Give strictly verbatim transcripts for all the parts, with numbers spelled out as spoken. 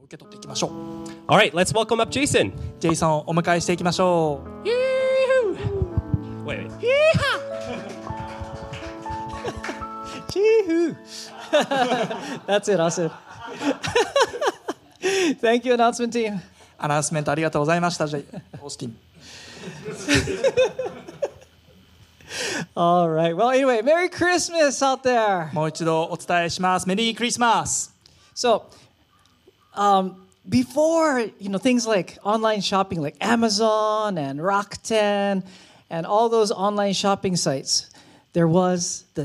受け取っていきましょう。 All right, let's welcome up Jason. ジェイソンをお迎えしていきましょう。 Wait, wait. Chee-hoo. That's it, that's it. Thank you, announcement team. アナウンスメントありがとうございました。ジェイオースティン。 All right. Well, anyway, Merry Christmas out there. もう一度お伝えします。メリークリスマス。 So, um, before, you know, things like online shopping like Amazon and Rakuten and all those online shopping sites, there was the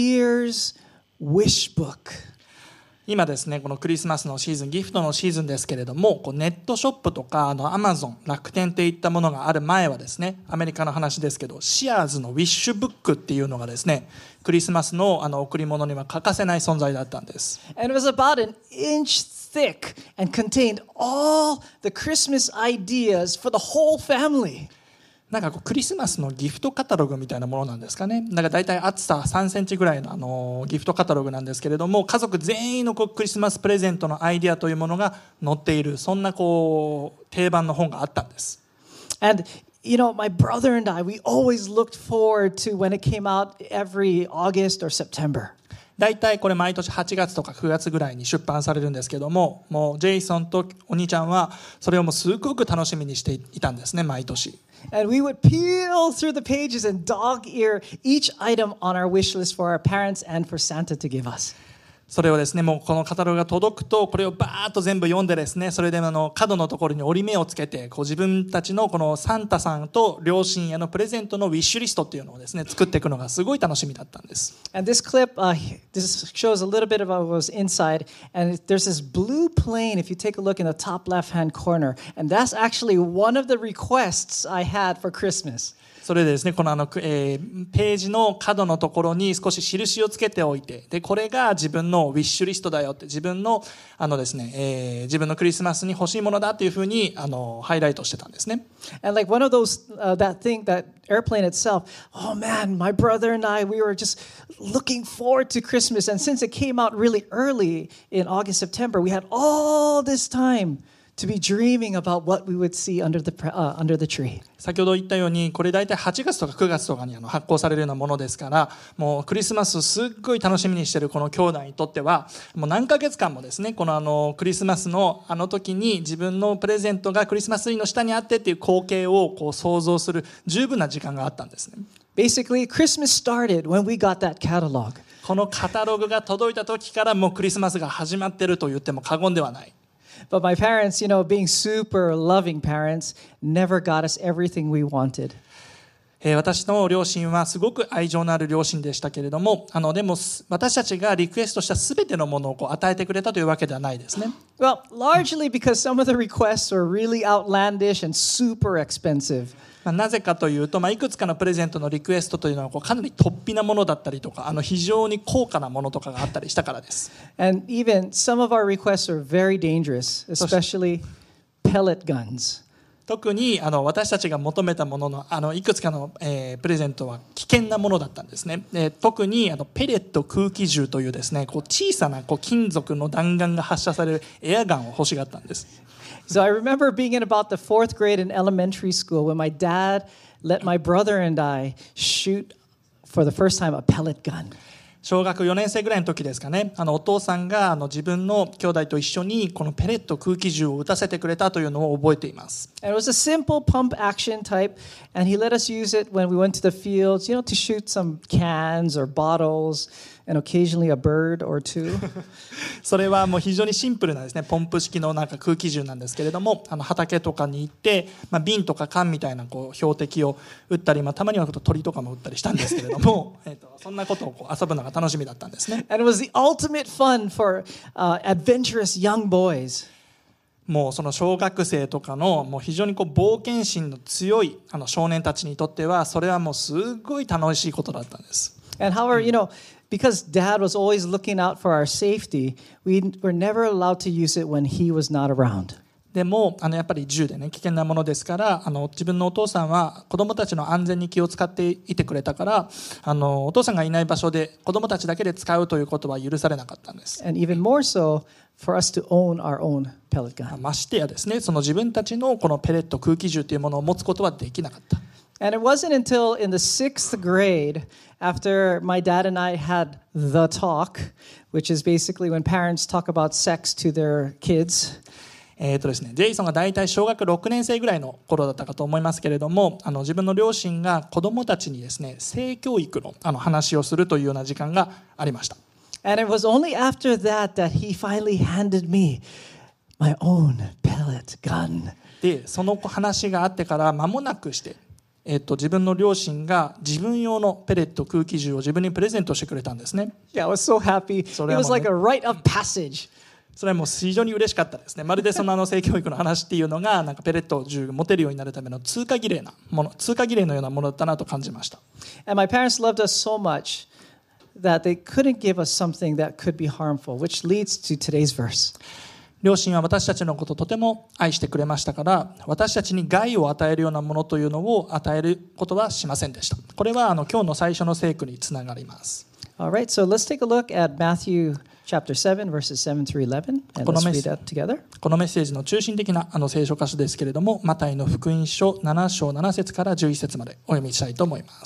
Sears Wish Book. 今ですね、このクリスマスのシーズン、ギフトのシーズンですけれども、こうネットショップとかあの Amazon、楽天っていったものがある前はですね、アメリカの話ですけど、シアーズのウィッシュブックっていうのがですね、クリスマスのあの贈り物には欠かせない存在だったんです。 And it was about an inch thick and contained all the Christmas ideas for the whole family. なんかこうクリスマスのギフトカタログみたいなものなんですかね。なんか大体厚ささんセンチぐらいのあのギフトカタログなんですけれども、家族全員のこうクリスマスプレゼントのアイディアというものが載っている、そんなこう定番の本があったんです。 And you know, my brother and I, we always looked forward to when it came out every August or September. 大体これ毎年はちがつとかくがつぐらいに出版されるんですけども、もうジェイソンとお兄ちゃんはそれをもうすごく楽しみにしていたんですね、毎年。 And we would peel through the pages and dog ear each item on our wish list for our parents and for Santa to give us. それをですね、もうこのカタログが届くとこれをバーッと全部読んでですね、それであの角のところに折り目をつけて、こう自分たちのこのサンタさんと両親へのプレゼントのウィッシュリストっていうのをですね、作っていくのがすごい楽しみだったんです。 And this clip, uh, this shows a little bit of what was inside. And there's this blue plane, if you take a look in the top left-hand corner. And that's actually one of the requests I had for Christmas. それでですね、このあの、えー、ページの角のところに少し印をつけておいて、でこれが自分のウィッシュリストだよって、自分のあのですね、えー、自分のクリスマスに欲しいものだっていうふうにあのハイライトしてたんですね。 And like one of those, uh, that thing, that airplane itself, oh man, my brother and I, we were just looking forward to Christmas. And since it came out really early in August, September, we had all this time to be dreaming about what we would see under the, uh, under the tree. 先ほど言ったように、これ大体はちがつとかくがつとかにあの発行されるようなものですから、もうクリスマスすっごい楽しみにしているこの兄弟にとっては、もう何ヶ月間もですね、このあのクリスマスのあの時に自分のプレゼントがクリスマスツリーの下にあってっていう光景をこう想像する十分な時間があったんですね。 Basically, Christmas started when we got that catalog. このカタログが届いた時からもうクリスマスが始まっていると言っても過言ではない。 But my parents, you know, being super loving parents, never got us everything we wanted. えー、私の両親はすごく愛情のある両親でしたけれども、あのでも私たちがリクエストしたすべてのものをこう与えてくれたというわけではないですね。 Well, largely because some of the requests were really outlandish and super expensive. まあ、なぜかというと、まあ、いくつかのプレゼントのリクエストというのはこうかなり突飛なものだったりとか、あの非常に高価なものとかがあったりしたからです。 And even some of our requests are very dangerous, especially pellet guns. 特にあの私たちが求めたもののあのいくつかの、えー、プレゼントは危険なものだったんですね。で特にあのペレット空気銃というですね、こう小さなこう金属の弾丸が発射されるエアガンを欲しがったんです。 So I remember being in about the fourth grade in elementary school when my dad let my brother and I shoot for the first time a pellet gun. 小学よねん生ぐらいの時ですかね、あのお父さんがあの自分の兄弟と一緒にこのペレット空気銃を撃たせてくれたというのを覚えています。 And it was a simple pump action type, and he let us use it when we went to the fields, you know, to shoot some cans or bottles and occasionally a bird or two. それはもう非常にシンプルなですね、ポンプ式のなんか空気銃なんですけれども、あの畑とかに行って、まあ、瓶とか缶みたいなこう標的を撃ったり、まあ、たまには鳥とかも撃ったりしたんですけれども、えっとそんなことをこう遊ぶのが楽しみだったんですね。 And it was the ultimate fun for uh, adventurous young boys. もうその小学生とかのもう非常にこう冒険心の強いあの少年たちにとっては、それはもうすごい楽しいことだったんです。 And however, you know, because Dad was always looking out for our safety, we were never allowed to use it when he was not around. でもあのやっぱり銃でね、危険なものですから、あの自分のお父さんは子どもたちの安全に気を使っていてくれたから、あのお父さんがいない場所で子どもたちだけで使うということは許されなかったんです。 And even more so, for us to own our own pellet gun. ましてやですね、その自分たちのこのペレット空気銃というものを持つことはできなかった。 And it wasn't until in the sixth grade, after my dad and I had the talk, which is basically when parents talk about sex to their kids. えーとですね、ジェイソンが大体小学ろくねん生ぐらいの頃だったかと思いますけれども、あの自分の両親が子どもたちにですね、性教育のあの話をするというような時間がありました。 And it was only after that that he finally handed me my own pellet gun. で、その話があってから間もなくして、えーと、自分の両親が自分用のペレット空気銃を自分にプレゼントしてくれたんですね。 Yeah, I was so happy. It was like a rite of passage. それはもう非常に嬉しかったですね。まるでそのあの性教育の話っていうのがなんかペレット銃を持てるようになるための通過儀礼なもの、通過儀礼のようなものだったなと感じました。 And my parents loved us so much that they couldn't give us something that could be harmful, which leads to today's verse. 両親は私たちのことをとても愛してくれましたから、私たちに害を与えるようなものというのを与えることはしませんでした。これはあの今日の最初の聖句につながります。 All right, so let's take a look at Matthew chapter seven, verses seven through eleven, and let's read that together. このメッセージの中心的なあの聖書箇所ですけれども、マタイの福音書なな章なな節からじゅういち節までお読みしたいと思います。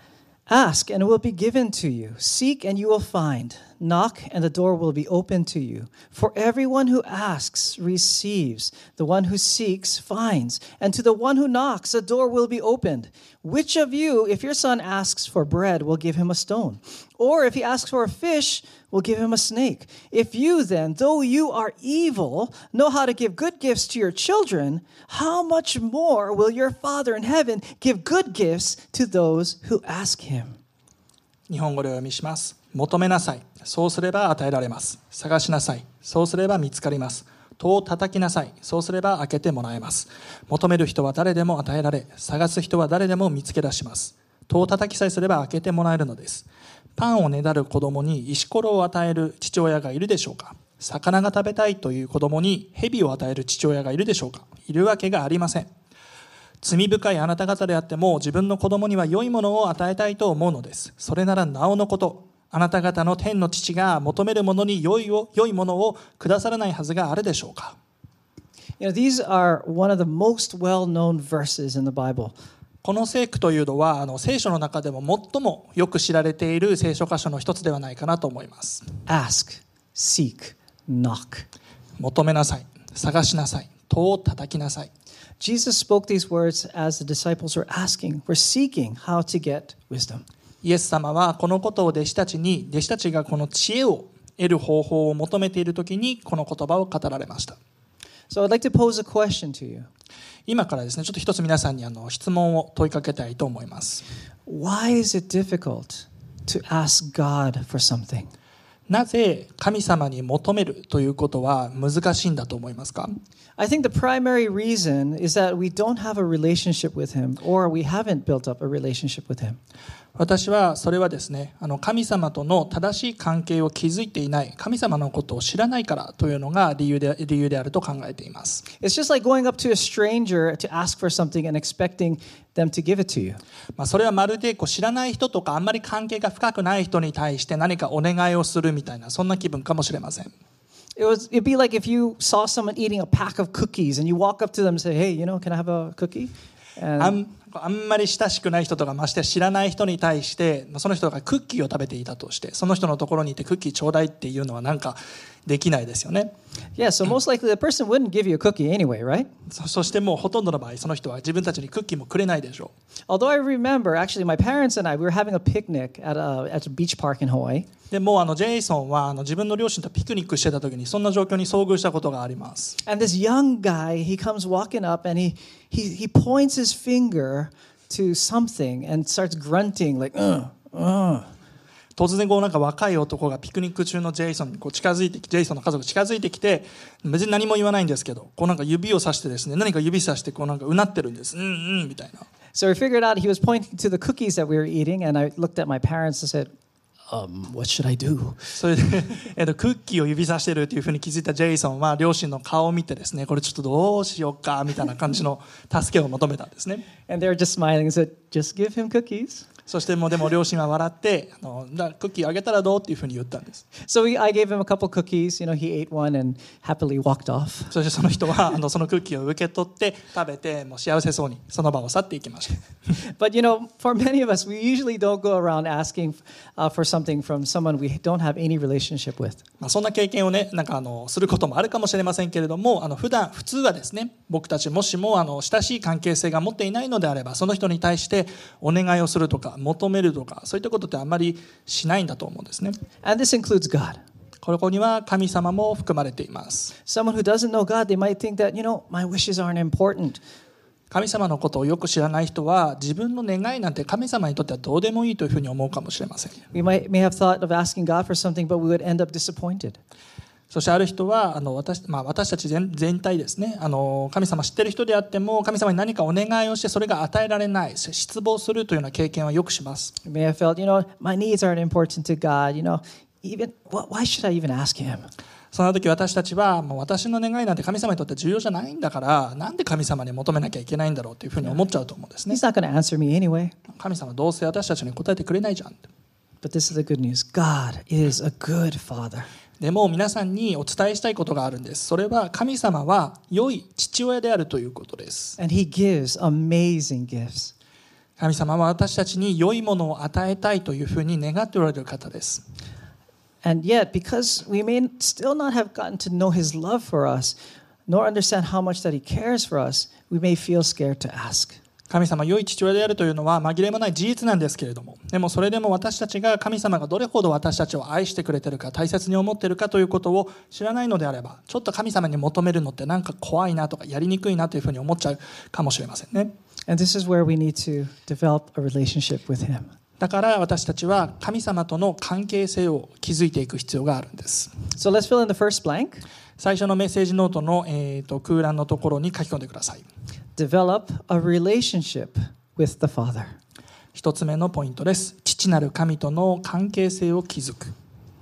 Ask, and it will be given to you. Seek, and you will find. Knock, and the door will be opened to you. For everyone who asks receives. The one who seeks finds. And to the one who knocks, the door will be opened. Which of you, if your son asks for bread, will give him a stone? Or if he asks for a fish, will give him a snake? If you then, though you are evil, know how to give good gifts to your children, how much more will your Father in heaven give good gifts to those who ask him? 日本語でお読みします。求めなさい。そうすれば与えられます。探しなさい。そうすれば見つかります。戸を叩きなさい。そうすれば開けてもらえます。求める人は誰でも与えられ、探す人は誰でも見つけ出します。戸を叩きさえすれば開けてもらえるのです。パンをねだる子供に石ころを与える父親がいるでしょうか。魚が食べたいという子供に蛇を与える父親がいるでしょうか。いるわけがありません。罪深いあなた方であっても自分の子供には良いものを与えたいと思うのです。それならなおのこと、あなた方の天の父が求めるものに良いを良いものをくださらないはずがあるでしょうか。 You know, these are one of the most well-known verses in the Bible. この聖句というのはあの聖書の中でも最もよく知られている聖書箇所の一つではないかなと思います。 Ask, seek, knock. 求めなさい、探しなさい、戸を叩きなさい。 Jesus spoke these words as the disciples were asking, were seeking how to get wisdom. イエス様はこのことを弟子たちに、弟子たちがこの知恵を得る方法を求めているときにこの言葉を語られました。 So I'd like to pose a question to you. 今からですね、ちょっと一つ皆さんにあの質問を問いかけたいと思います。 Why is it difficult to ask God for something? なぜ神様に求めるということは難しいんだと思いますか？ I think the primary reason is that we don't have a relationship with Him, or we haven't built up a relationship with Him. 私はそれはですね、あの神様との正しい関係を築いていない、神様のことを知らないからというのが理由で、理由であると考えています。 It's just like going up to a stranger to ask for something and expecting them to give it to you. まあそれはまるでこう知らない人とかあんまり関係が深くない人に対して何かお願いをするみたいな、そんな気分かもしれません。 It was, it'd be like if you saw someone eating a pack of cookies and you walk up to them and say, hey, you know, can I have a cookie? And あんあんまり親しくない人とかまして知らない人に対してその人がクッキーを食べていたとしてその人のところにいてクッキーちょうだいっていうのはなんかできないですよね。 Yeah, so most likely the person wouldn't give you a cookie anyway, right? そ, そしてもうほとんどの場合その人は自分たちにクッキーもくれないでしょう。 Although I remember, actually, my parents and I, we were having a picnic at a, at a beach park in Hawaii. でもうあのジェイソンはあの自分の両親とピクニックしてた時にそんな状況に遭遇したことがあります。 And this young guy, he comes walking up and he, he, he points his finger to something and starts grunting like, uh, uh. 突然こうなんか若い男がピクニック中のジェイソンにこう近づいてきジェイソンの家族近づいてきて別に何も言わないんですけどこうなんか指をさしてですね何か指さしてこうなんかうなってるんですうんうんみたいな。 So we figured out he was pointing to the cookies that we were eating and I looked at my parents and said, um, what should I do? それで、えっと、クッキーを指さしてるっていうふうに気づいたジェイソンは両親の顔を見てですねこれちょっとどうしようかみたいな感じの助けを求めたんですね。 And they were just smiling and said, just give him cookies. そしてもうでも両親は笑ってあのだクッキーあげたらどうっていうふうに言ったんです。 So we, I gave him a couple cookies. You know, he ate one and happily walked off. そしてその人はあのそのクッキーを受け取って食べてもう幸せそうにその場を去っていきました。 But you know, for many of us, we usually don't go around asking uh, for something from someone we don't have any relationship with. まあそんな経験をねなんかあのすることもあるかもしれませんけれども、あの普段普通はですね、僕たちもしもあの親しい関係性が持っていないのであれば、その人に対してお願いをするとか求めるとかそういったことってあんまりしないんだと思うんですね。 And this includes God. ここには神様も含まれています。 Someone who doesn't know God, they might think that, you know, my wishes aren't important. 神様のことをよく知らない人は自分の願いなんて神様にとってはどうでもいいというふうに思うかもしれません。 We might may have thought of asking God for something, but we would end up disappointed. そしてある人はあの 私,、まあ、私たち 全, 全体ですねあの神様知ってる人であっても神様に何かお願いをしてそれが与えられない失望するというような経験はよくします。 We may have felt, you know, my needs aren't important to God. You know, even why should I even ask Him? その時私たちはもう私の願いなんて神様にとって重要じゃないんだからなんで神様に求めなきゃいけないんだろうというふうに思っちゃうと思うんですね。 He's not going to answer me anyway. 神様どうせ私たちに答えてくれないじゃん。 But this is the good news. God is a good Father. でも皆さんにお伝えしたいことがあるんです。それは神様は良い父親であるということです。 And He gives amazing gifts. 神様は私たちに良いものを与えたいというふうに願っておられる方です。 And yet, because we may still not have gotten to know His love for us, nor understand how much that He cares for us, we may feel scared to ask. 神様良い父親であるというのは紛れもない事実なんですけれども、でもそれでも私たちが神様がどれほど私たちを愛してくれているか大切に思っているかということを知らないのであれば、ちょっと神様に求めるのってなんか怖いなとかやりにくいなというふうに思っちゃうかもしれませんね。 And this is where we need to develop a relationship with Him. だから私たちは神様との関係性を築いていく必要があるんです。 So let's fill in the first blank. 最初のメッセージノートの、えーと空欄のところに書き込んでください。 Develop a relationship with the Father. 一つ目のポイントです。父なる神との関係性を築く。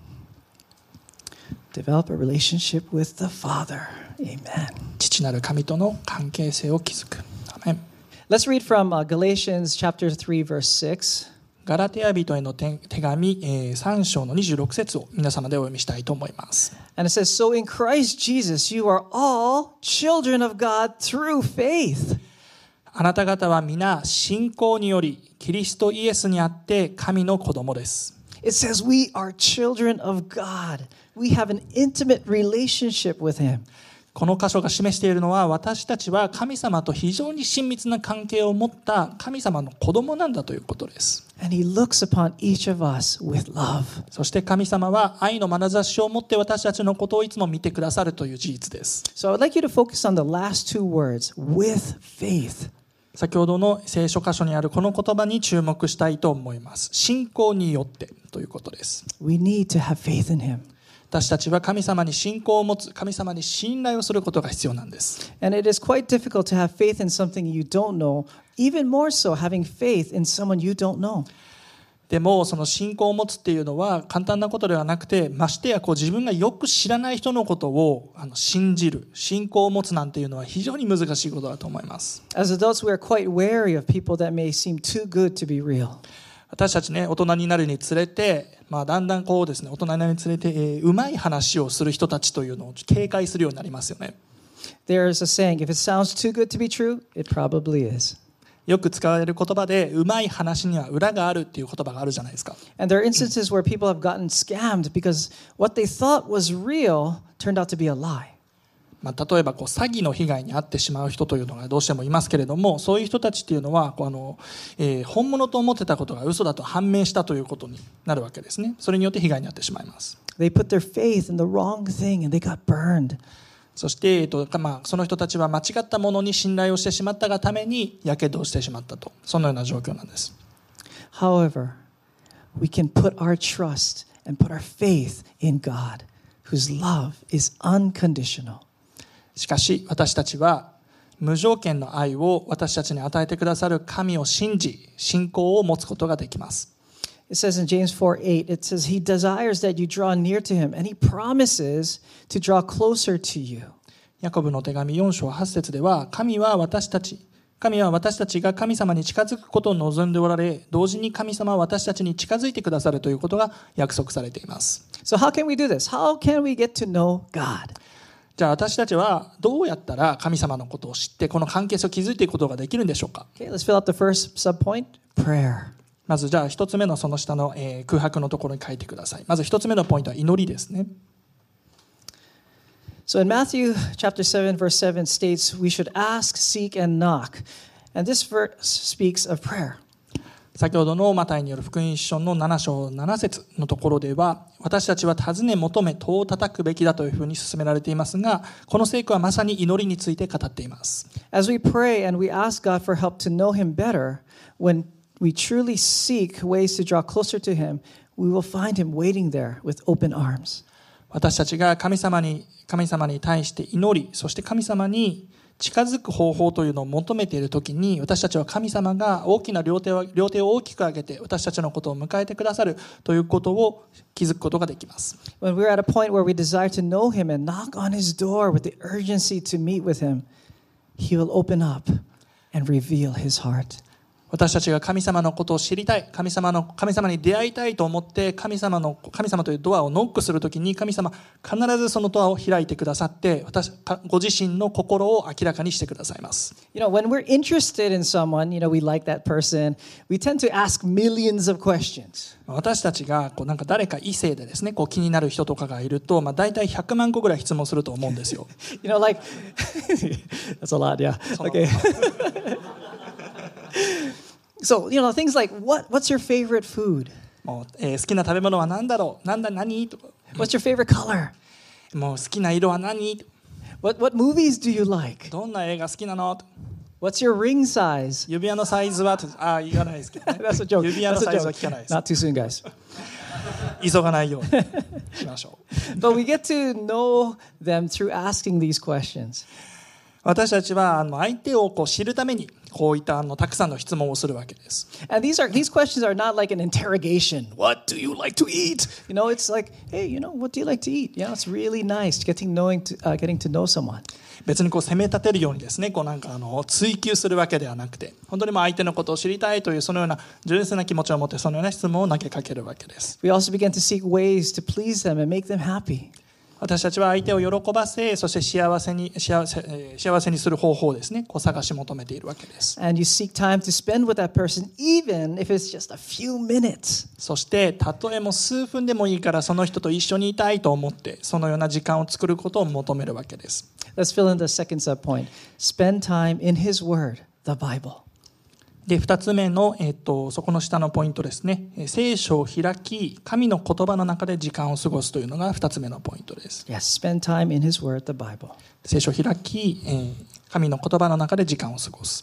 Develop a relationship with the Father. Amen. 父なる神との関係性を築く。アメン。 Let's read from uh, Galatians chapter three, verse six. ガラテヤ人への手紙、えー、さん章のにじゅうろく節を皆様でお読みしたいと思います。 And it says, So in Christ Jesus, you are all children of God through faith. あなた方は皆信仰によりキリストイエスにあって神の子供です。 It says we are children of God. We have an intimate relationship with Him. この箇所が示しているのは私たちは神様と非常に親密な関係を持った神様の子供なんだということです。 And He looks upon each of us with love. そして神様は愛の眼差しを持って私たちのことをいつも見てくださるという事実です。 So I'd like you to focus on the last two words, with faith. 先ほどの聖書箇所にあるこの言葉に注目したいと思います。信仰によってということです。 We need to have faith in Him. 私たちは神様に信仰を持つ、神様に信頼をすることが必要なんです。 And it is quite difficult to have faith in something you don't know, even more so having faith in someone you don't know. でもその信仰を持つっていうのは簡単なことではなくて、ましてやこう自分がよく知らない人のことをあの信じる、信仰を持つなんていうのは非常に難しいことだと思います。 As adults, we are quite wary of people that may seem too good to be real. 私たちね、大人になるにつれて、まあ、だんだんこうですね、大人になるにつれて、えー、うまい話をする人たちというのを警戒するようになりますよね。 There is a saying, if it sounds too good to be true, it probably is. よく使われる言葉で、うまい話には裏があるっていう言葉があるじゃないですか。 And there are instances where people have gotten scammed because what they thought was real turned out to be a lie. まあ、例えばこう詐欺の被害に遭ってしまう人というのがどうしてもいますけれども、そういう人たちっていうのはこうあの、えー、本物と思ってたことが嘘だと判明したということになるわけですね。それによって被害に遭ってしまいます。 They put their faith in the wrong thing and they got burned. そして、えーとまあ、その人たちは間違ったものに信頼をしてしまったがためにやけどをしてしまったと、そのような状況なんです。 However, we can put our trust and put our faith in God, whose love is unconditional. しかし私たちは無条件の愛を私たちに与えてくださる神を信じ、信仰を持つことができます。 It says in James four eight, it says, He desires that you draw near to Him, and He promises to draw closer to you. ヤコブの手紙よん章はち節では、神は私たち神は私たちが神様に近づくことを望んでおられ、同時に神様は私たちに近づいてくださるということが約束されています。 So how can we do this? How can we get to know God? じゃあ私たちはどうやったら神様のことを知ってこの関係性を築いていくことができるんでしょうか。 Okay, let's fill out the first subpoint, prayer. まずじゃあ一つ目のその下の、えー空白のところに書いてください。まず一つ目のポイントは祈りですね。 So in Matthew chapter seven, verse seven states we should ask, seek, and knock. And this verse speaks of prayer. 先ほどのマタイによる福音書のなな章なな節のところでは、私たちは尋ね求め戸を叩くべきだというふうに進められていますが、この聖句はまさに祈りについて語っています。 As we pray and we ask God for help to know Him better, when we truly seek ways to draw closer to Him, we will find Him waiting there with open arms. 私たちが神様に神様に対して祈り、そして神様に近づく方法というのを求めているときに、私たちは神様が大きな両手を両手を大きく上げて私たちのことを迎えてくださるということを気づくことができます。 When we're at a point where we desire to know Him and knock on His door with the urgency to meet with Him, He will open up and reveal His heart. 私たちが神様のことを知りたい、神様の神様に出会いたいと思って神様の神様というドアをノックするときに、神様必ずそのドアを開いてくださって、私ご自身の心を明らかにしてくださいます。 You know, when we're interested in someone, you know, we like that person, we tend to ask millions of questions. 私たちがこうなんか誰か異性でですね、こう気になる人とかがいると、まあ大体ひゃくまん個ぐらい質問すると思うんですよ。 You know, like that's a lot, yeah. Okay. So, you know, things like what what's your favorite food? もう、えー好きな食べ物は何だろう、なんだ何とか、 What's your favorite color? もう好きな色は何、 What what movies do you like? どんな映画好きなの、 What's your ring size? 指輪のサイズは、ああ言わないですけどね。 That's a joke. 指輪の That's サ a イズは joke. 聞かないです。 Not too soon, guys. 急がないようにしましょう。 But we get to know them through asking these questions. 私たちはあの相手をこう知るためにこういったあのたくさんの質問をするわけです。 And these are these questions are not like an interrogation. What do you like to eat? You know, it's like, hey, you know, what do you like to eat? You know, it's really nice getting knowing to, uh, getting to know someone. 別にこう責め立てるようにですね、こうなんかあの追求するわけではなくて、本当にもう相手のことを知りたいというそのような純粋な気持ちを持ってそのような質問を投げかけるわけです。 We also begin to seek ways to please them and make them happy. 私たちは相手を喜ばせ、そして幸せに幸せ、えー幸せにする方法をですね、こう探し求めているわけです。 And you seek time to spend with that person, even if it's just a few minutes. そしてたとえも数分でもいいからその人と一緒にいたいと思ってそのような時間を作ることを求めるわけです。 Let's fill in the second subpoint. Spend time in His Word, the Bible. でふたつめの、えっと、そこの下のポイントですね。えー聖書を開き神の言葉の中で時間を過ごすというのがふたつめのポイントです。 Yes, spend time in His Word, the Bible. 聖書を開き、えー神の言葉の中で時間を過ごす。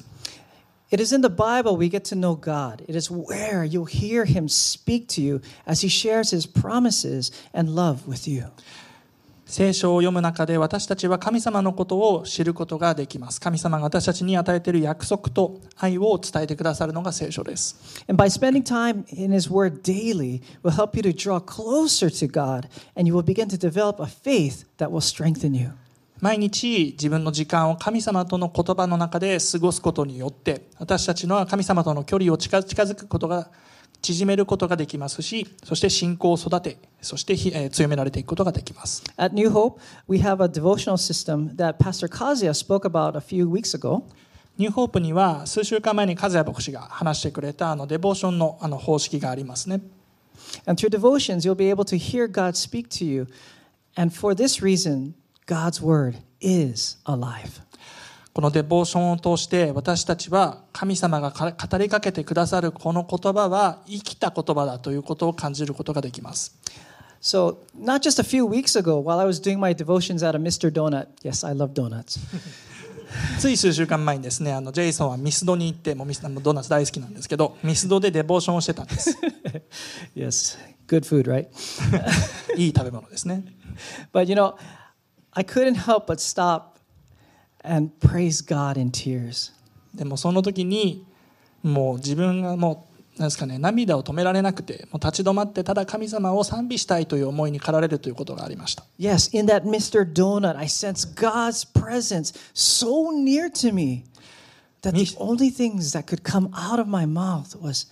It is in the Bible we get to know God. It is where you'll hear Him speak to you as He shares His promises and love with you. 聖書を読む中で私たちは神様のことを知ることができます。神様が私たちに与えている約束と愛を伝えてくださるのが聖書です。 And by spending time in His Word daily will help you to draw closer to God, and you will begin to develop a faith that will strengthen you. 毎日自分の時間を神様との言葉の中で過ごすことによって私たちの神様との距離を近近づくことが縮めることができますし、そして信仰を育て、そしてえー強められていくことができます。 At New Hope, we have a devotional system that Pastor Kazuya spoke about a few weeks ago. ニューホープには数週間前に和也牧師が話してくれたあのデボーションのあの方式がありますね。 And through devotions, you'll be able to hear God speak to you. And for this reason, God's Word is alive. このデボーションを通して私たちは神様が語りかけてくださるこの言葉は生きた言葉だということを感じることができます。 So, not just a few weeks ago, while I was doing my devotions at a Mister Donut, yes, I love donuts. つい数週間前にですね、あのジェイソンはミスドに行って、もうミスドーナツ大好きなんですけど、ミスドでデボーションをしてたんです。 Yes, good food, right? いい食べ物ですね。 But you know, I couldn't help but stop and praise God in tears. でもその時にもう自分がもうなんですかね、涙を止められなくて、もう立ち止まってただ神様を賛美したいという思いに駆られるということがありました。 Yes, in that Mister Donut, I sense God's presence so near to me. that the only things that could come out of my mouth was,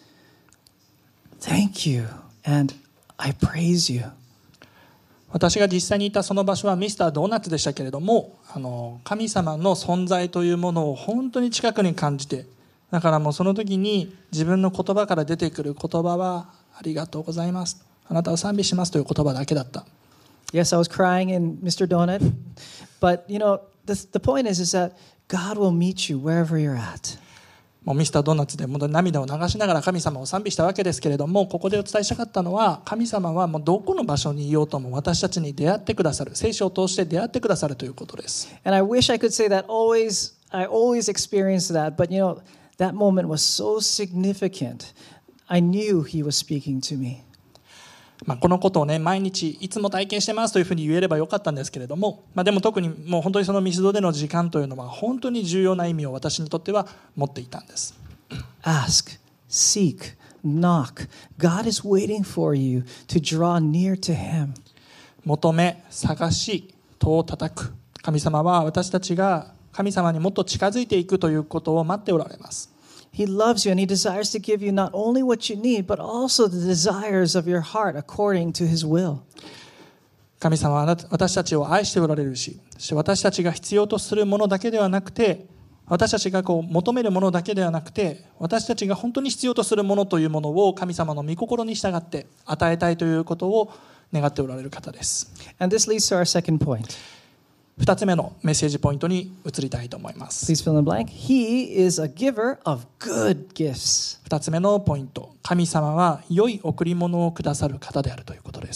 Thank you and I praise you. 私が実際にいたその場所はミスタードーナツでしたけれども、あの神様の存在というものを本当に近くに感じて、だからもうその時に自分の言葉から出てくる言葉はありがとうございます、あなたを賛美しますという言葉だけだった。 Yes, I was crying in Mister Donut, but you know, the, the point is, is that God will meet you wherever you're at. もうミスタードーナツでもう涙を流しながら神様を賛美したわけですけれども、ここでお伝えしたかったのは、神様はもうどこの場所にいようとも私たちに出会ってくださる、聖書を通して出会ってくださるということです。 And I wish I could say that always, I always experienced that, but you know, that moment was so significant. I knew He was speaking to me. まあ、このことをね、毎日いつも体験してますというふうに言えればよかったんですけれども、まあ、でも特にもう本当にそのミスドでの時間というのは本当に重要な意味を私にとっては持っていたんです。 Ask, seek, knock. God is waiting for you to draw near to Him. 求め、探し、戸を叩く。神様は私たちが神様にもっと近づいていくということを待っておられます。 He loves you and He desires to give you not only what you need, but also the desires of your heart according to His will. 神様は私たちを愛しておられるし、そして私たちが必要とするものだけではなくて、私たちがこう求めるものだけではなくて、私たちが本当に必要とするものというものを神様の御心に従って与えたいということを願っておられる方です。 And this leads to our second point. ふたつめのメッセージポイントに移りたいと思います。 Please fill in the blank. He is a giver of good gifts. ふたつめのポイント、神様は良い贈り物をくださる方であるということです。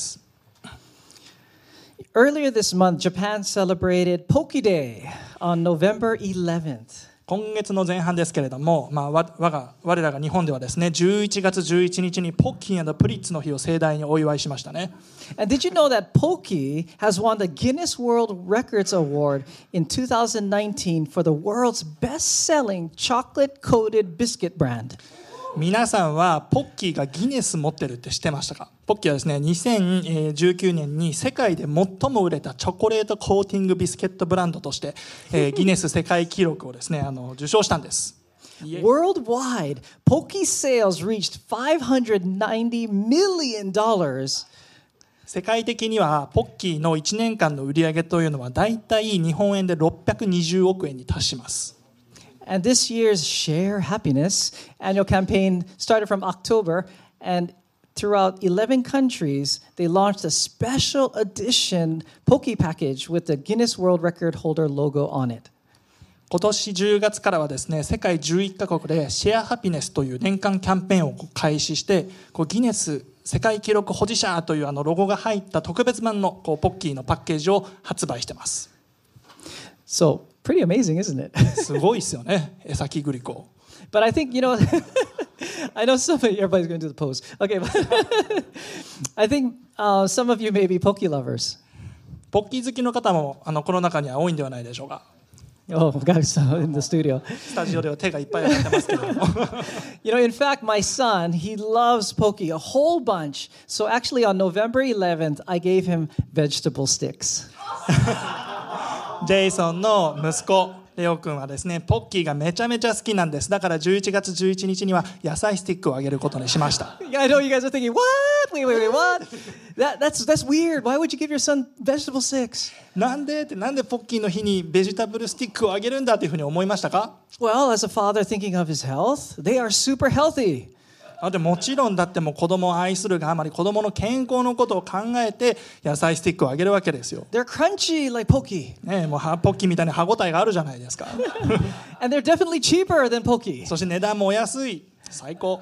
Earlier this month, Japan celebrated Poki Day on November eleventh. 今月の前半ですけれども、まあ、我が我らが日本ではですね、じゅういちがつじゅういちにちにポッキー&プリッツの日を盛大にお祝いしましたね。 And did you know that Poki has won the Guinness World Records Award in two thousand nineteen for the world's best-selling chocolate-coated biscuit brand? 皆さんはポッキーがギネス持ってるって知ってましたか？ポッキーはですね、にせんじゅうきゅうねんに世界で最も売れたチョコレートコーティングビスケットブランドとして、えー、ギネス世界記録をですね、あの受賞したんです。 Worldwide, Poki sales reached five hundred ninety million dollars. 世界的にはポッキーのいちねんかんの売り上げというのはだいたい日本円でろっぴゃくにじゅうおくえんに達します。 And this year's Share Happiness annual campaign started from October, and throughout eleven countries, they launched a special edition Poki package with the Guinness World Record holder logo on it. 今年じゅうがつからはですね、世界じゅういっかこくでシェアハピネスという年間キャンペーンを開始して、こうギネス世界記録保持者というあのロゴが入った特別版のこうポッキーのパッケージを発売してます。 So, pretty amazing, isn't it? すごいですよね、江崎グリコ。 But I think, you know, I know some of you, everybody's going to do the pose. Okay, but I think uh, some of you may be Poki lovers. ポッキー好きの方もあのこの中には多いんではないでしょうか。 Oh, guys, in the studio. スタジオでは手がいっぱい上がってますけれども。 You know, in fact, my son, he loves Poki, a whole bunch. So actually on November eleventh, I gave him vegetable sticks. ジェイソンの息子レオ君はですね、ポッキーがめちゃめちゃ好きなんです。だからじゅういちがつじゅういちにちには野菜スティックをあげることにしました。 I know you guys are thinking, what? Wait, wait, wait, what? That, that's, that's weird. Why would you give your son vegetable sticks? なんでってなんでポッキーの日にベジタブルスティックをあげるんだというふうに思いましたか？ Well, as a father thinking of his health, they are super healthy. でもちろんだってもう子供を愛するがあまり子供の健康のことを考えて野菜スティックをあげるわけですよ。 They're crunchy like Poki. ねえ、もうポッキーみたいな歯ごたえがあるじゃないですか。 And they're definitely cheaper than Poki. そして値段もお安い。最高。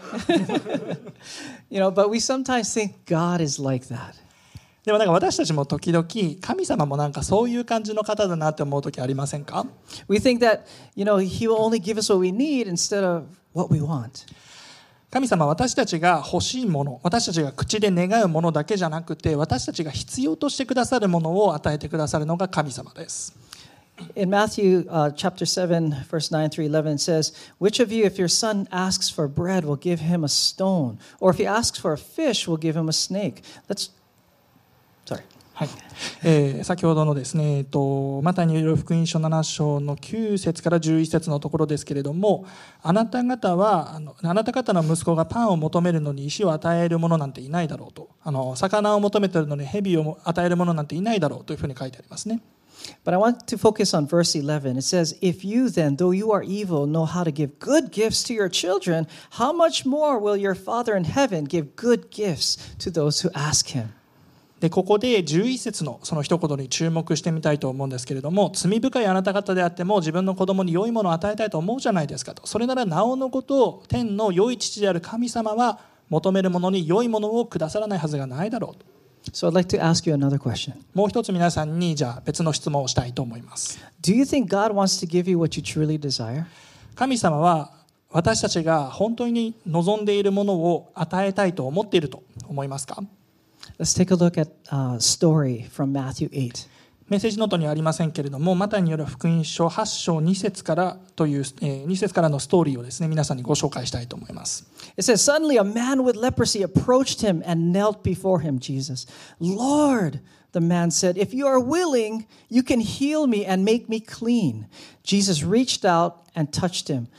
You know, but we sometimes think God is like that. でもなんか私たちも時々神様もなんかそういう感じの方だなって思う時ありませんか？ We think that, you know, He will only give us what we need instead of what we want. 神様は私たちが欲しいもの、私たちが口で願うものだけじゃなくて、私たちが必要としてくださるものを与えてくださるのが神様です。 In Matthew uh, chapter seven, verse nine through eleven, it says, "Which of you, if your son asks for bread, will give him a stone? Or if he asks for a fish, will give him a snake?" Let's, sorry. はいえー、先ほどのですね、えっと、マタイによる福音書なな章のきゅう節からじゅういち節のところですけれども、あなた方はあのあなた方の息子がパンを求めるのに石を与える者なんていないだろうと、あの魚を求めているのに蛇を与える者なんていないだろうというふうに書いてありますね。 But I want to focus on verse eleven. It says, If you then, though you are evil, know how to give good gifts to your children, how much more will your Father in heaven give good gifts to those who ask him? でここでじゅういち節のその一言に注目してみたいと思うんですけれども、罪深いあなた方であっても自分の子供に良いものを与えたいと思うじゃないですかと。それならなおのこと天の良い父である神様は求める者に良いものをくださらないはずがないだろうと。 So I'd like to ask you another question. もう一つ皆さんにじゃあ別の質問をしたいと思います。 Do you think God wants to give you what you truly desire? 神様は私たちが本当に望んでいるものを与えたいと思っていると思いますか？ Let's take a look at a story from Matthew eight. メッセージノートにはありませんけれども、マタイによる福音書はち章に節からという、えー、に節からのストーリーをですね、皆さんにご紹介したいと思います。 It says, Suddenly a man with leprosy approached him and knelt before him, Jesus. Lord, the man said, if you are willing, you can heal me and make me clean. Jesus reached out and touched him.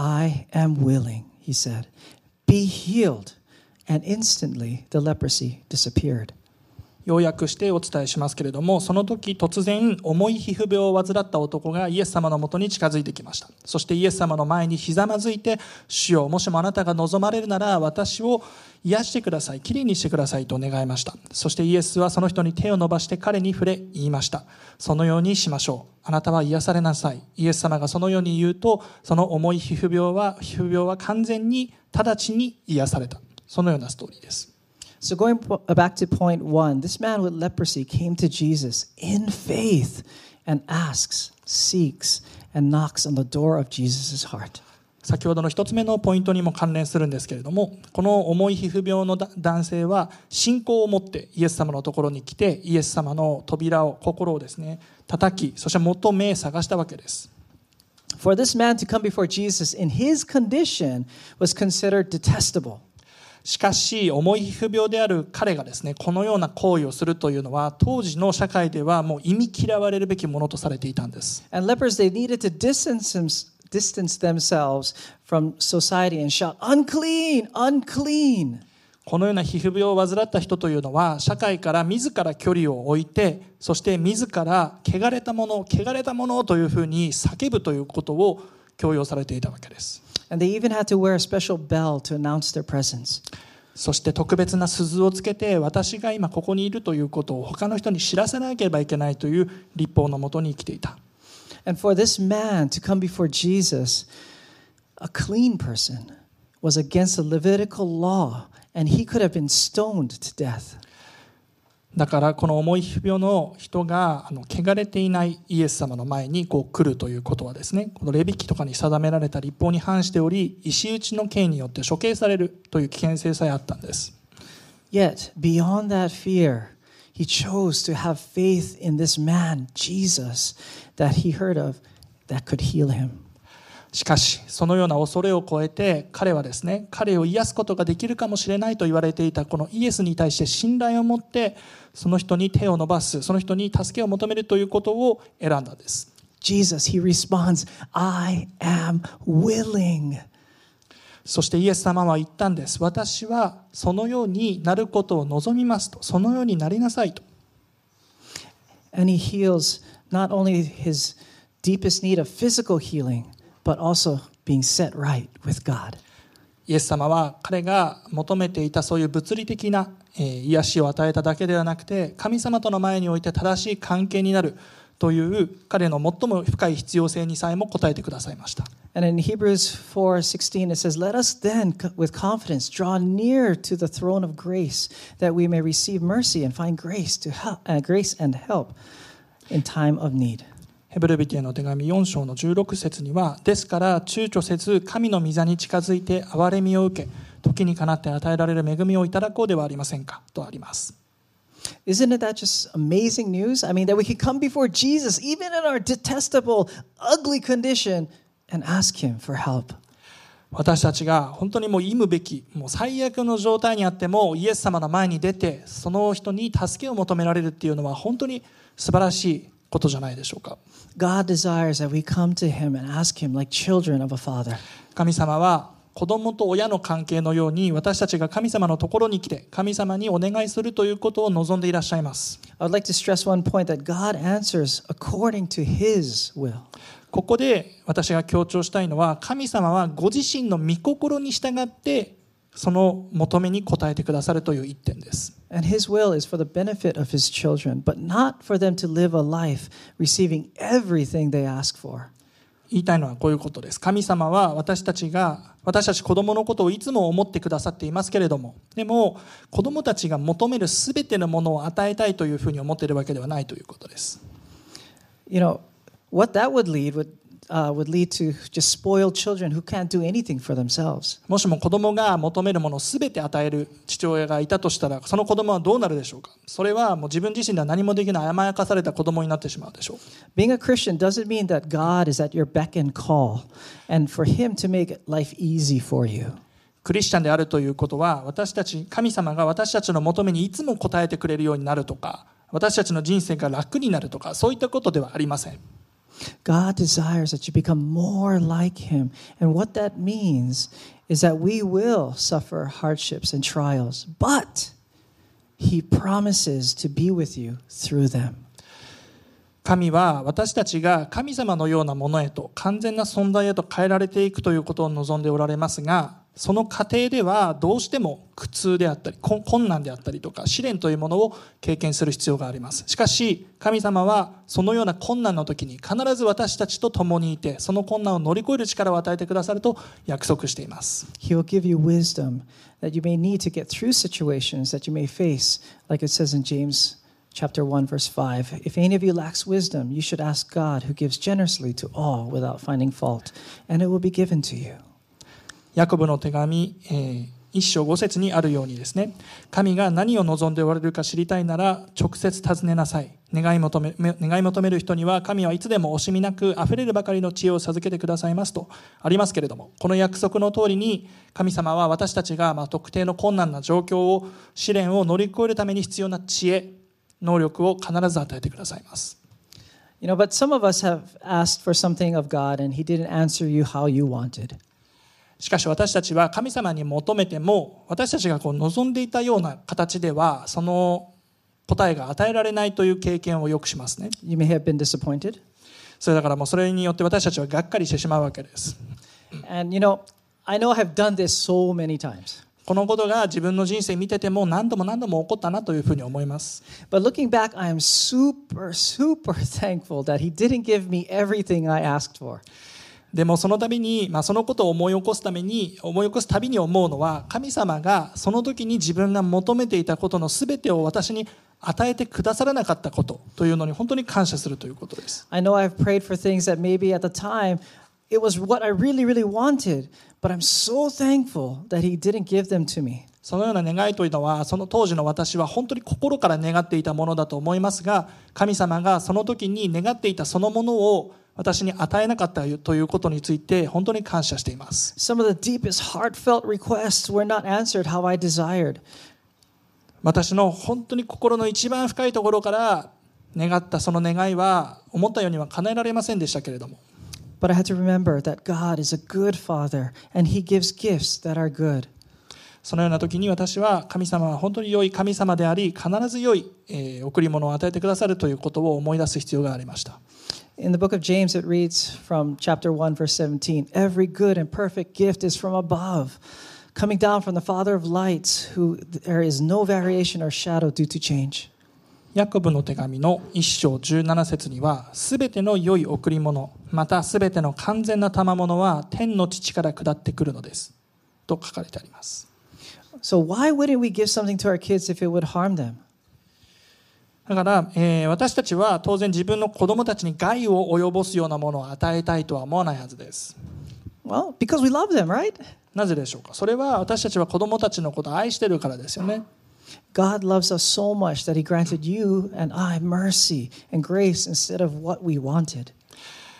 I am willing, he said. Be healed. And instantly the leprosy disappeared. 要約してお伝えしますけれども、その時突然重い皮膚病を患った男がイエス様のもとに近づいてきました。そしてイエス様の前にひざまずいて、主よ、もしもあなたが望まれるなら私を癒してください、きれいにしてくださいと願いました。そしてイエスはその人に手を伸ばして彼に触れ言いました。そのようにしましょう。あなたは癒されなさい。イエス様がそのように言うと、その重い皮膚病は皮膚病は完全に直ちに癒された。そのようなストーリーです。 So going back to point one, this man with leprosy came to Jesus in faith and asks, seeks, and knocks on the door of Jesus' heart. 先ほどの一つ目のポイントにも関連するんですけれども、この重い皮膚病の男性は信仰を持ってイエス様のところに来て、イエス様の扉を、心をですね、叩き、そして求め探したわけです。 For this man to come before Jesus in his condition was considered detestable. しかし重い皮膚病である彼がですね、このような行為をするというのは当時の社会ではもう忌み嫌われるべきものとされていたんです。 And lepers, they needed to distance, distance themselves from society and shout, unclean, unclean. このような皮膚病を患った人というのは社会から自ら距離を置いて、そして自ら汚れたもの、汚れたものというふうに叫ぶということを強要されていたわけです。 And they even had to wear a special bell to announce their presence. そして特別な鈴をつけて、私が今ここにいるということを他の人に知らせなければいけないという律法のもとに生きていた。 And for this man to come before Jesus, a clean person, was against the Levitical law, and he could have been stoned to death. だからこの重い皮膚病の人があの汚れていないイエス様の前にこう来るということはですね、このレビ記とかに定められた律法に反しており、石打ちの刑によって処刑されるという危険性さえあったんです。 Yet, beyond that fear, he chose to have faith in this man, Jesus, that he heard of, that could heal him. しかしそのような恐れを超えて、彼はですね、彼を癒すことができるかもしれないと言われていたこのイエスに対して信頼を持って、その人に手を伸ばす、その人に助けを求めるということを選んだんです。 Jesus, he responds, I am willing. そしてイエス様は言ったんです。私はそのようになることを望みますと、そのようになりなさいと。 And he heals not only his deepest need of physical healing, but also being set right with God. イエス様は彼が求めていたそういう物理的な癒しを与えただけではなくて、神様との前において正しい関係になるという彼の最も深い必要性にさえも応えてくださいました。 And in Hebrews four sixteen it says, Let us then with confidence draw near to the throne of grace, that we may receive mercy and find grace to help, uh, grace and help in time of need. ヘブル人への手紙よん章のじゅうろく節には、ですから躊躇せず神の御座に近づいて憐れみを受け、時にかなって与えられる恵みをいただこうではありませんかとあります。 Isn't it that just amazing news? I mean, that we can come before Jesus even in our detestable, ugly condition and ask him for help. 私たちが本当にもう忌むべき、もう最悪の状態にあってもイエス様の前に出て、その人に助けを求められるっていうのは本当に素晴らしいことじゃないでしょうか。 God desires that we come to Him and ask Him like children of a father. 神様は子供と親の関係のように、私たちが神様のところに来て神様にお願いするということを望んでいらっしゃいます。 I would like to stress one point that God answers according to His will. ここで私が強調したいのは、神様はご自身の御心に従ってその求めに応えてくださるという一点です。 And His will is for the benefit of His children, but not for them to live a life receiving everything they ask for. 言いたいのはこういうことです。神様は私たちが私たち子供のことをいつも思ってくださっていますけれども、でも子供たちが求めるすべてのものを与えたいというふうに思っているわけではないということです。 You know, what that would lead would Uh, would lead to just spoiled children who can't do anything for themselves. もしも子供が求めるものをすべて与える父親がいたとしたら、その子供はどうなるでしょうか。それはもう自分自身では何もできない甘やかされた子供になってしまうでしょう。 Being a Christian doesn't mean that God is at your beck and call and for Him to make life easy for you. クリスチャンであるということは、私たち神様が私たちの求めにいつも応えてくれるようになるとか、私たちの人生が楽になるとか、そういったことではありません。 God desires that you become more like Him. And what that means is that we will suffer hardships and trials, but He promises to be with you through them. 神は私たちが神様のようなものへと、完全な存在へと変えられていくということを望んでおられますが、その過程ではどうしても苦痛であったり困難であったりとか試練というものを経験する必要があります。しかし神様はそのような困難の時に必ず私たちと共にいて、その困難を乗り越える力を与えてくださると約束しています。 He will give you wisdom that you may need to get through situations that you may face, like it says in James chapter one verse five. If any of you lacks wisdom, you should ask God who gives generously to all without finding fault, and it will be given to you. ヤコブの手紙、えー、一章五節にあるようにですね、神が何を望んでおられるか知りたいなら直接尋ねなさい。願い求め、願い求める人には神はいつでも惜しみなくあふれるばかりの知恵を授けてくださいますとありますけれども、この約束の通りに神様は私たちがまあ特定の困難な状況を試練を乗り越えるために必要な知恵、能力を必ず与えてくださいます。 You know, but some of us have asked for something of God and He didn't answer you how you wanted. しかし私たちは神様に求めても、私たちがこう望んでいたような形ではその答えが与えられないという経験をよくしますね。 You may have been disappointed. それだからもうそれによって私たちはがっかりしてしまうわけです。 And you know, I know I've done this so many times. このことが自分の人生見てても何度も何度も起こったなというふうに思います。 But looking back, I am super, super thankful that He didn't give me everything I asked for. でもその度に、まあ、そのことを思い起こすために思い起こすたびに思うのは、神様がその時に自分が求めていたことのすべてを私に与えてくださらなかったことというのに本当に感謝するということです。 I know I've prayed for things that maybe at the time it was what I really, really wanted, but I'm so thankful that He didn't give them to me. そのような願いというのは、その当時の私は本当に心から願っていたものだと思いますが、神様がその時に願っていたそのものを私に与えなかったということについて本当に感謝しています。 Some of the deepest heartfelt requests were not answered how I desired. 私の本当に心の一番深いところから願ったその願いは思ったようには叶えられませんでしたけれども、 But I had to remember that God is a good Father and He gives gifts that are good. そのような時に私は神様は本当に良い神様であり、必ず良い、えー、贈り物を与えてくださるということを思い出す必要がありました。 In the book of James, it reads from chapter one, verse seventeen, Every good and perfect gift is from above, coming down from the Father of lights, who there is no variation or shadow due to change. ヤコブの手紙の一章十七節には、すべての良い贈り物、またすべての完全な賜物は天の父から下ってくるのですと書かれてあります。 So why wouldn't we give something to our kids if it would harm them? だから、えー、私たちは当然自分の子供たちに害を及ぼすようなものを与えたいとは思わないはずです。 Well, because we love them, right? なぜでしょうか。それは私たちは子供たちのことを愛しているからですよね。 God loves us so much that He granted you and I mercy and grace instead of what we wanted.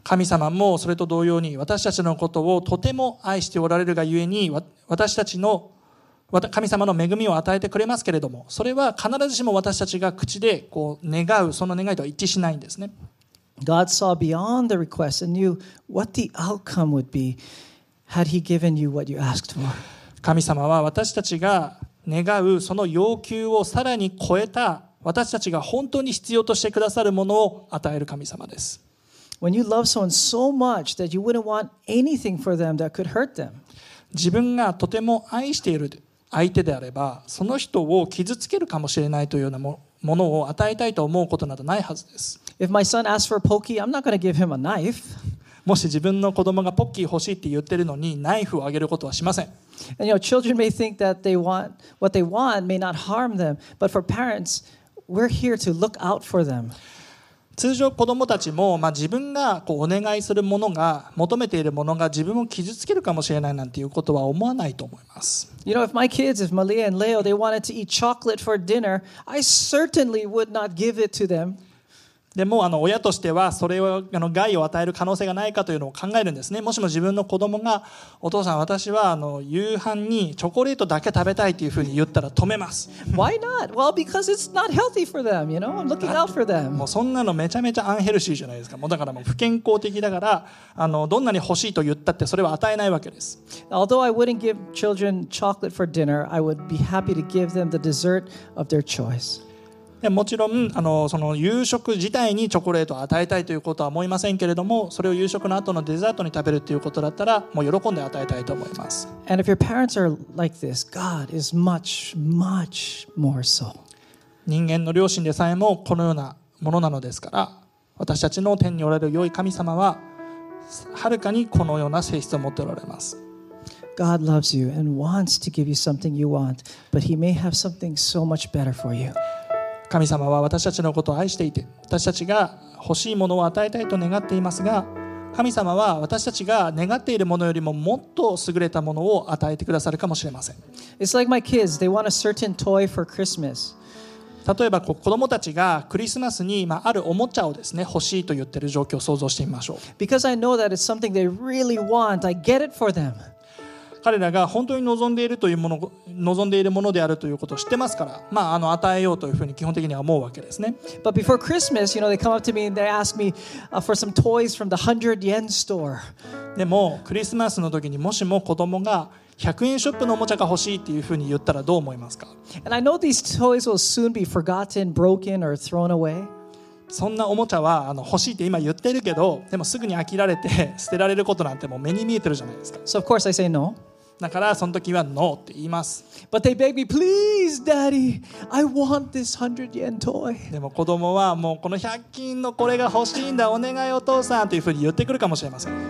神様もそれと同様に私たちのことをとても愛しておられるがゆえに、私たちの神様の恵みを与えてくれますけれども、それは必ずしも私たちが口でこう願うその願いとは一致しないんですね。 God saw beyond the request and knew what the outcome would be had He given you what you asked for. 神様は私たちが願うその要求をさらに超えた、私たちが本当に必要としてくださるものを与える神様です。 When you love someone so much that you wouldn't want anything for them that could hurt them. 自分がとても愛している相手であれば、その人を傷つけるかもしれないというようなものを与えたいと思うことなどないはずです。 If my son asks for a Pokey, I'm not going to give him a knife. もし自分の子供がポッキー欲しいって言ってるのにナイフをあげることはしません。 And you know, children may think that they want what they want may not harm them, but for parents, we're here to look out for them. 通常子どもたちも、まあ、自分がこうお願いするものが求めているものが自分を傷つけるかもしれないなんていうことは思わないと思います。 You know, if my kids, if Malia and Leo, they wanted to eat chocolate for dinner, I certainly would not give it to them. でもあの親としてはそれをあの害を与える可能性がないかというのを考えるんですね。もしも自分の子供がお父さん私はあの夕飯にチョコレートだけ食べたいというふうに言ったら止めます。 Why not? Well, because it's not healthy for them, you know. I'm looking out for them. もうそんなのめちゃめちゃアンヘルシーじゃないですか。もうだからもう不健康的だからあのどんなに欲しいと言ったってそれは与えないわけです。 Although I wouldn't give children chocolate for dinner, I would be happy to give them the dessert of their choice. でもちろんあのその夕食自体にチョコレートを与えたいということは思いませんけれども、それを夕食の後のデザートに食べるということだったらもう喜んで与えたいと思います。 And if your parents are like this, God is much, much more so. 人間の良心でさえもこのようなものなのですから、私たちの天におられる良い神様ははるかにこのような性質を持っておられます。 God loves you and wants to give you something you want, but He may have something so much better for you. 神様は私たちのことを愛していて、私たちが欲しいものを与えたいと願っていますが、神様は私たちが願っているものよりももっと優れたものを与えてくださるかもしれません。 It's like my kids, they want a certain toy for Christmas. 例えば子供たちがクリスマスにあるおもちゃをですね欲しいと言っている状況を想像してみましょう。 Because I know that it's something they really want, I get it for them. 彼らが本当に望んでいるというもの、望んでいるものであるということを知ってますから、まあ、あの与えようというふうに基本的には思うわけですね。 But before Christmas, you know, they come up to me and they ask me、uh, for some toys from the hundred yen store. でもクリスマスの時にもしも子供がひゃくえんショップのおもちゃが欲しいっていうふうに言ったらどう思いますか？ And I know these toys will soon be forgotten, broken, or thrown away. そんなおもちゃはあの欲しいって今言ってるけど、でもすぐに飽きられて捨てられることなんてもう目に見えてるじゃないですか。 So of course I say no. だからその時はノーって言います。 But they beg me, please, Daddy, I want this hundred yen toy. でも子供はもうこのひゃく均のこれが欲しいんだ、お願いお父さんというふうに言ってくるかもしれません。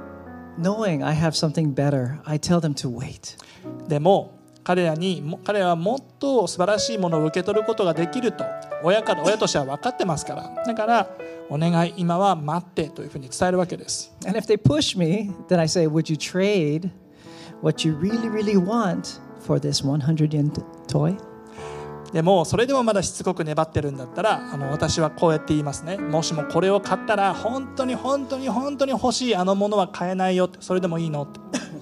Knowing I have something better, I tell them to wait. でも彼らに彼らはもっと素晴らしいものを受け取ることができると親から親としては分かってますから、だからお願い今は待ってというふうに伝えるわけです。 And if they push me, then I say, would you trade what you really, really want for this one hundred yen toy? でもそれでもまだしつこく粘ってるんだったら、あの私はこうやって言いますね。もしもこれを買ったら本当に本当に本当に欲しいあのものは買えないよって、それでもいいのって。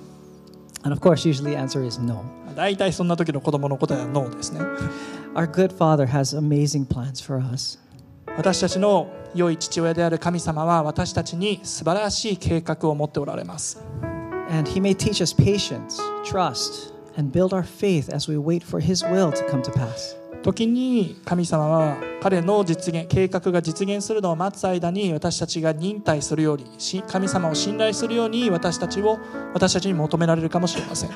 And of course, usually the answer is no. 大体そんな時の子供の答えはノーですね。 Our good Father has amazing plans for us. 私たちの良い父親である神様は私たちに素晴らしい計画を持っておられます。 And He may teach us patience, trust, and build our faith as we wait for His will to come to pass. 時に神様は彼の実現計画が実現するのを待つ間に私たちが忍耐するように、神様を信頼するように私たちを私たちに求められるかもしれません。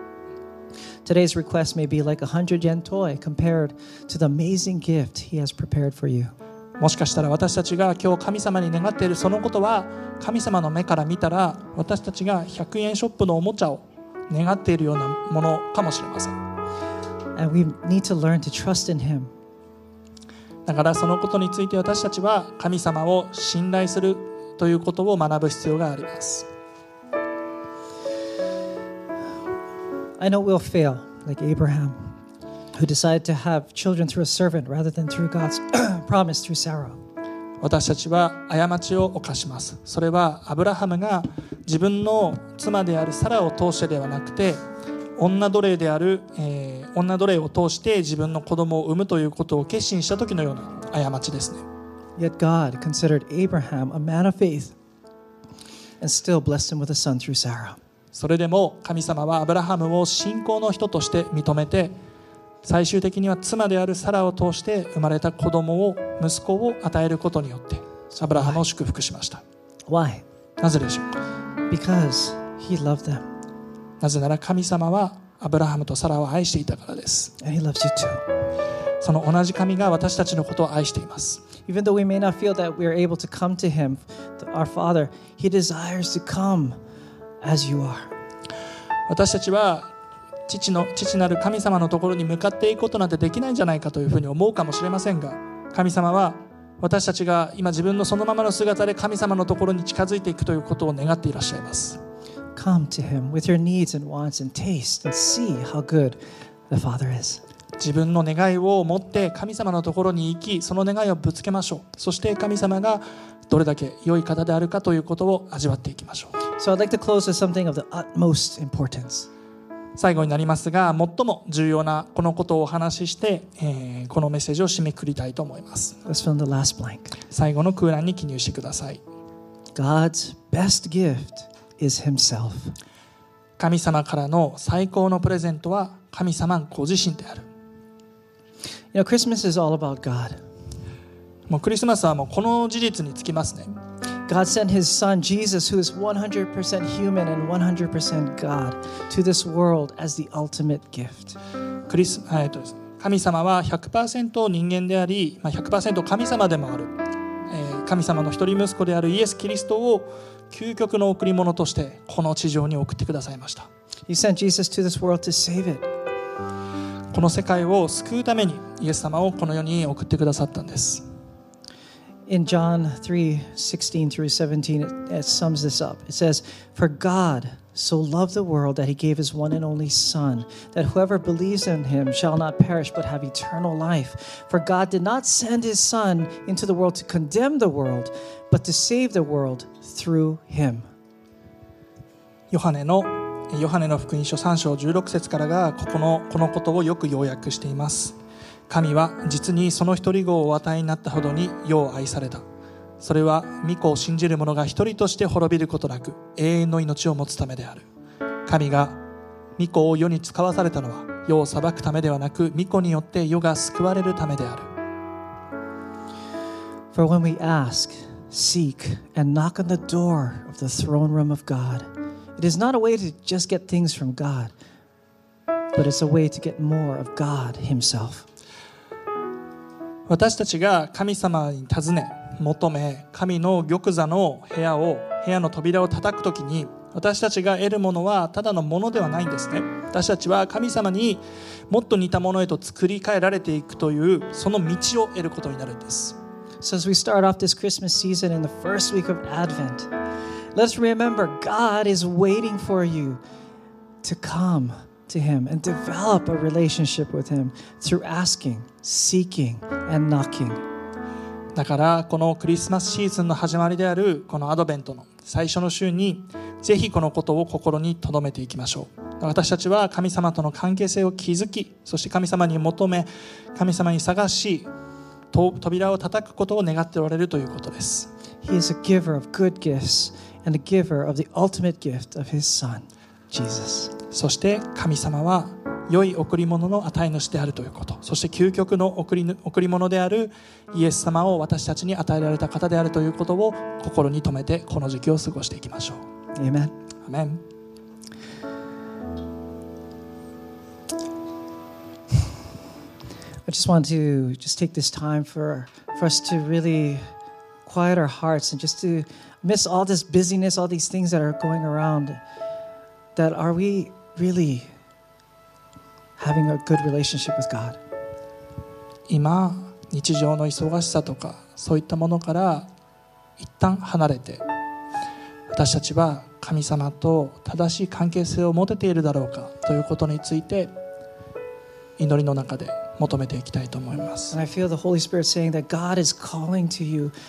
Today's request may be like a hundred yen toy compared to the amazing gift He has prepared for you. もしかしたら私たちが今日神様に願っているそのことは、神様の目から見たら私たちがひゃくえんショップのおもちゃを願っているようなものかもしれません。 And we need to learn to trust in Him. だからそのことについて私たちは神様を信頼するということを学ぶ必要があります。 I know we'll fail, like Abraham, who decided to have children through a servant rather than through God's promise through Sarah. 私たちは過ちを犯します。それはアブラハムが自分の妻であるサラを通してではなくて、女奴隷である、えー、女奴隷を通して自分の子供を産むということを決心した時のような過ちですね。 Yet God considered Abraham a man of faith and still blessed him with a son through Sarah. それでも神様はアブラハムを信仰の人として認めて、最終的には妻であるサラを通して生まれた子供を、息子を与えることによってアブラハムを祝福しました。 Why? なぜでしょうか。 Because he loved them. なぜなら神様はアブラハムとサラを愛していたからです。 And he loves you too. その同じ神が私たちのことを愛しています。 Even though we may not feel that we are able to come to him, to our Father, he desires to come as you are. 私たちは父の父なる神様のところに向かっていくことなんてできないんじゃないかというふうに思うかもしれませんが、神様は私たちが今自分のそのままの姿で神様のところに近づいていくということを願っていらっしゃいます。 Come to him with your needs and wants and taste and see how good the Father is. 自分の願いを持って神様のところに行き、その願いをぶつけましょう。そして神様がどれだけ良い方であるかということを味わっていきましょう。 So I'd like to close with something of the utmost importance. 最後になりますが、最も重要なこのことをお話しして、えー、このメッセージを締めくくりたいと思います。 Let's fill in the last blank. 最後の空欄に記入してください。 God's best gift is himself. 神様からの最高のプレゼントは神様ご自身である。 You know, Christmas is all about God. もうクリスマスはもうこの事実につきますね。 God sent his son Jesus, who is one hundred percent human and one hundred percent God, to this world as the ultimate gift. クリス、えーとですね、神様は ひゃくパーセント 人間であり、まあ、ひゃくパーセント 神様でもある、えー、神様の一人息子であるイエス・キリストを究極の贈り物としてこの地上に送ってくださいました。 He sent Jesus to this world to save it. この世界を救うためにイエス様をこの世に送ってくださったんです。 In John three sixteen through seventeen, it, it sums this up. It says, For God so loved the world that he gave his one and only Son, that whoever believes in him shall not perish but have eternal life. For God did not send his Son into the world to condemn the world, but to save the world through him. ヨハネのヨハネの福音書さん章じゅうろく節からがここのこのことをよく要約しています。神は実にその一人子をお与えになったほどに世を愛された。それは御子を信じる者が一人として滅びることなく永遠の命を持つためである。神が御子を世に使わされたのは世を裁くためではなく、御子によって世が救われるためである。 For when we ask, seek, and knock on the door of the throne room of God, it is not a way to just get things from God, but it's a way to get more of God himself. 私たちが神様に尋ね求め、神の玉座の部屋を部屋の扉を叩くときに、私たちが得るものはただのものではないんですね。私たちは神様にもっと似たものへと作り変えられていくというその道を得ることになるんです。 So as we start off this Christmas season in the first week of Advent, let's remember God is waiting for you to come to him and develop a relationship with him through asking, seeking, and knocking. だからこのクリスマスシーズンの始まりであるこのアドベントの最初の週にぜひこのことを心に留めていきましょう。私たちは神様との関係性を築き、そして神様に求め、神様に探し、扉を叩くことを願っておられるということです。 He is a giver of good gifts and a giver of the ultimate gift of his son, Jesus. そして神様は良い贈り物の与え主であるということ、そして究極の贈り、贈り物であるイエス様を私たちに与えられた方であるということを心に留めてこの時期を過ごしていきましょう。 Amen. アメン。 I just want to just take this time for, for us to really quiet our hearts and just to miss all this busyness, all these things that are going around. That are we really having a good relationship with God? 今日常の忙しさとかそういったものから一旦離れて、私たちは神様と正しい関係性を持てているだろうかということについて祈りの中で求めていきたいと思います。 And I feel the Holy Spirit saying that God is calling to you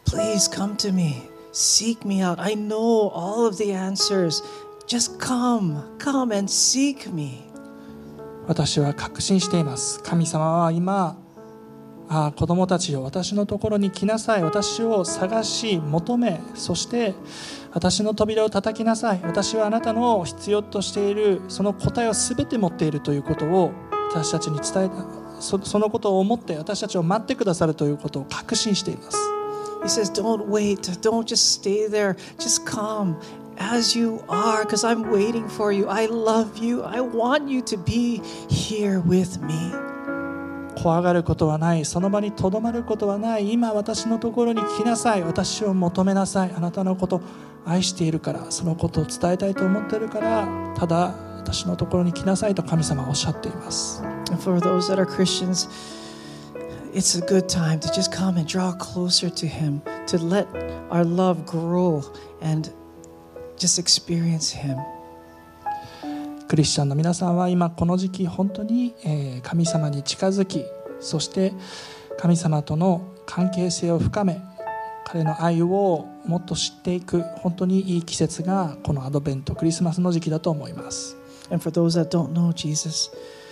Please come to me. Seek me out. I know all of the answers. Just come. Come and seek me. 私は確信しています。神様は今、ああ子供たちよ、私のところに来なさい。私を探し求め、そして私の扉を叩きなさい。私はあなたの必要としているその答えをすべて持っているということを私たちに伝えた。 そ, そのことを思って私たちを待ってくださるということを確信しています。 He says, don't wait. Don't just stay there. Just come as you are, because I'm waiting for you. I love you. I want you to be here with me. 怖がることはない。その場にとどまることはない。今私のところに来なさい。私を求めなさい。あなたのことを愛しているから、そのことを伝えたいと思っているから、ただ私のところに来なさいと神様はおっしゃっています。 And for those that are Christians, it's a good time to just come and draw closer to Him, to let our love grow and just experience Him. クリスチャンの皆さんは今この時期本当に神様に近づき、そして神様との関係性を深め、彼の愛をもっと知っていく本当にいい季節がこのアドベントクリスマスの時期だと思います。 And for those that don't know Jesus,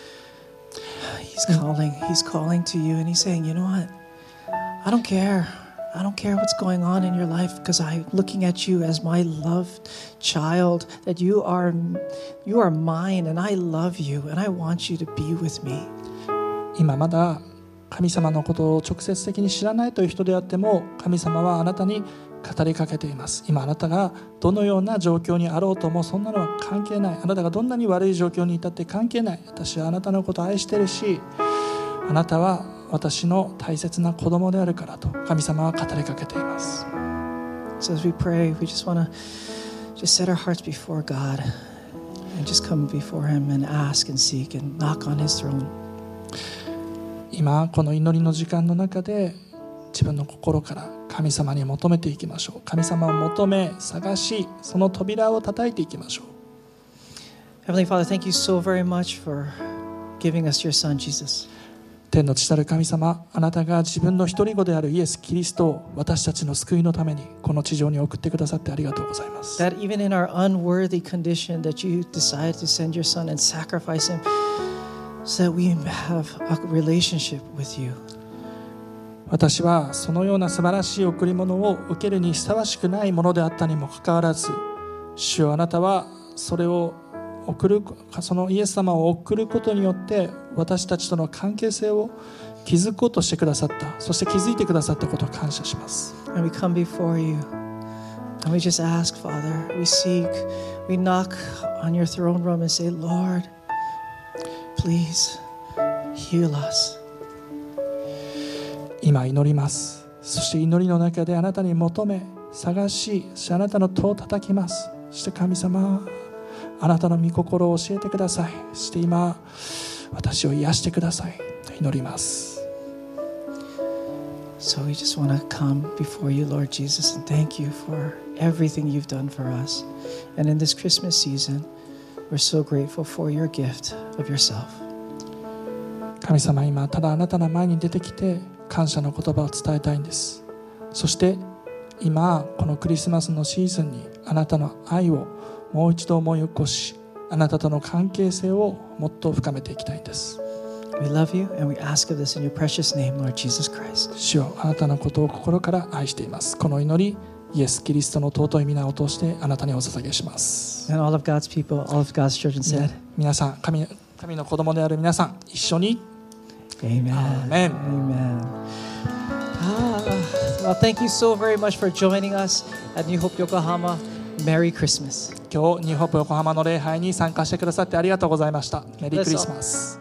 He's calling. He's calling to you, and He's saying, you know what? I don't care. I don't care what's going on in your life, because I'm looking at you as my loved child, that you are, you are mine, and I love you, and I want you to be with me. 今まだ神様のことを直接的に知らないという人であっても、神様はあなたに語りかけています。今あなたがどのような状況にあろうともそんなのは関係ない。あなたがどんなに悪い状況にいたって関係ない。私はあなたのことを愛しているし、あなたは私の大切な子供であるからと神様は語りかけています。 So as we pray, we just want to just set our hearts before God and just come before Him and ask and seek and knock on His throne. 今この祈りの時間の中で自分の心から神様に求めていきましょう。神様を求め探し、その扉を叩いていきましょう。 Heavenly Father, thank you so very much for giving us your Son, Jesus. 天の父なる神様、あなたが自分の一人子であるイエス・キリストを私たちの救いのためにこの地上に送ってくださってありがとうございます。 That even in our unworthy condition, that you decided to send your Son and sacrifice Him so that we have a relationship with you. 私はそのような素晴らしい贈り物を受けるにふさわしくないものであったにもかかわらず、主よあなたはそれを送る、そのイエス様を送ることによって私たちとの関係性を築こうとしてくださった。そして気づいてくださったことを感謝します。 And we come before you and we just ask, Father, we seek, we knock on your throne room and say, Lord, please heal us. 今祈ります。そして祈りの中であなたに求め探し、そしてあなたの戸を叩きます。そして神様、あなたの御心を教えてください。そして今私を癒してくださいと祈ります。 So we just want to come before you, Lord Jesus, and thank you for everything you've done for us. And in this Christmas season, we're so grateful for your gift of yourself. 神様、今ただあなたの前に出てきて感謝の言葉を伝えたいんです。そして今このクリスマスのシーズンにあなたの愛をもう一度思い起こし、あなたとの関係性をもっと深めていきたいんです。 We love you and we ask of this in your precious name, Lord Jesus Christ. 主よ、あなたのことを心から愛しています。この祈り、イエス・キリストの尊い皆を通してあなたにお捧げします。 And all of God's people, all of God's children said, 皆さん、神、神の子供である皆さん、一緒に Amen. Amen. Amen. Ah, well, thank you so very much for joining us at New Hope Yokohama. Merry Christmas. 今日ニューホープ横浜の礼拝に参加してくださってありがとうございました。メリークリスマス。